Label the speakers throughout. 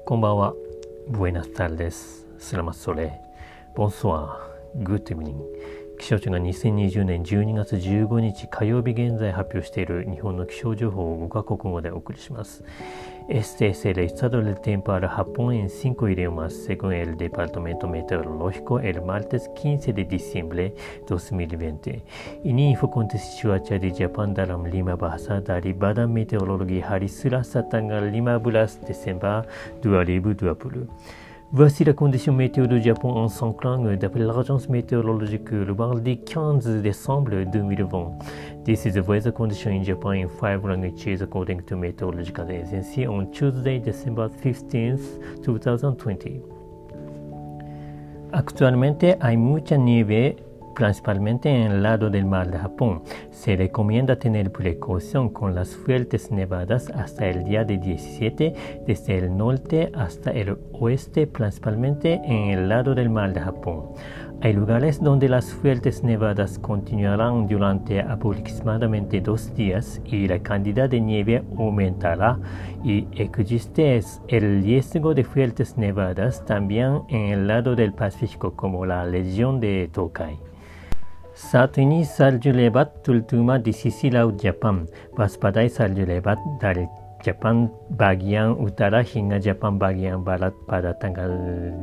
Speaker 1: こんばんは。Buenas tardes. Selamat sore. Bonsoir. Good evening. 気象庁が2020年12月15日火曜日現在発表している日本の気象情報を5カ国語でお送りします。Este es el estado del tiempo para Japón en 5 idiomas, según el Departamento Meteorológico, el martes 15 de diciembre 2020. Ini info kontes cuaca di Jepang dalam 5 bahasa dari Badan Meteorologi hari Selasa tanggal 15 Desember 2020.Voici la condition météo du Japon en 5 langues d'après l'agence météorologique le mardi 15 décembre 2020. This is the weather condition in Japan in 5 languages according to Meteorological Agency on Tuesday, December 15th, 2020. Actualmente hay mucha nieve principalmente en el lado del mar de Japón. Se recomienda tener precaución con las fuertes nevadas hasta el día de 17 desde el norte hasta el oeste, principalmente en el lado del mar de Japón. Hay lugares donde las fuertes nevadas continuarán durante aproximadamente 2 días y la cantidad de nieve aumentará y existe el riesgo de fuertes nevadas también en el lado del Pacífico como la región de Tokai.Saat ini salju lebat terutama di sisi laut Jepang. Waspadai salju lebat dari Jepang bagian utara hingga Jepang bagian barat pada tanggal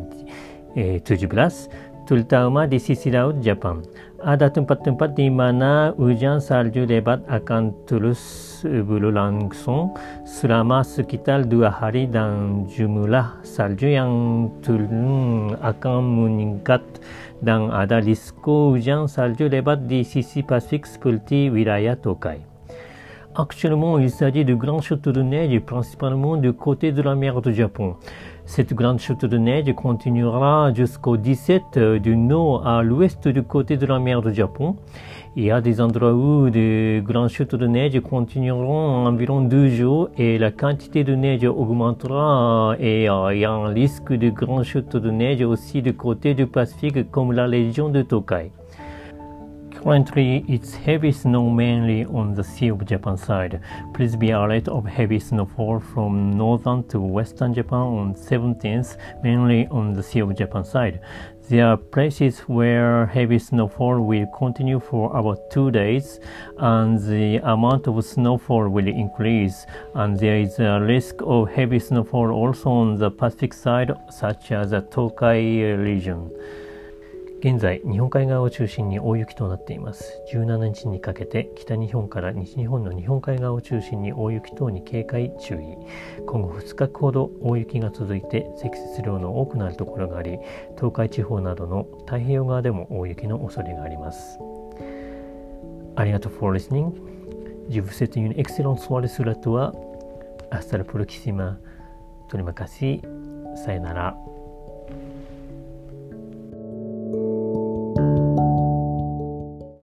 Speaker 1: 17, terutama di sisi laut Jepang. Ada tempat-tempat di mana hujan salju lebat akan terus berlangsung selama sekitar 2 hari dan jumlah salju yang turun akan meningkat.Dan ada risiko hujan salju lebat di sisi Pasifik seperti wilayah Tokai. Actuellement, il s'agit de grandes chutes de neige, principalement du côté de la mer du Japon. Cette grande chute de neige continuera jusqu'au 17 du nord à l'ouest du côté de la mer du Japon. Il y a des endroits où de grandes chutes de neige continueront environ 2 jours et la quantité de neige augmentera et il y a un risque de grandes chutes de neige aussi du côté du Pacifique comme la région de Tokai. Currently, it's heavy snow mainly on the Sea of Japan side. Please be alert of heavy snowfall from northern to western Japan on 17th, mainly on the Sea of Japan side. There are places where heavy snowfall will continue for about 2 days, and the amount of snowfall will increase, and there is a risk of heavy snowfall also on the Pacific side, such as the Tokai region.現在、日本海側を中心に大雪となっています。17日にかけて北日本から西日本の日本海側を中心に大雪等に警戒注意。今後2日ほど大雪が続いて積雪量の多くなるところがあり、東海地方などの太平洋側でも大雪の恐れがあります。ありがとう for listening. Je vous souhaite une excellente soirée sur la toile. Hasta la próxima. Terima kasih. さよなら。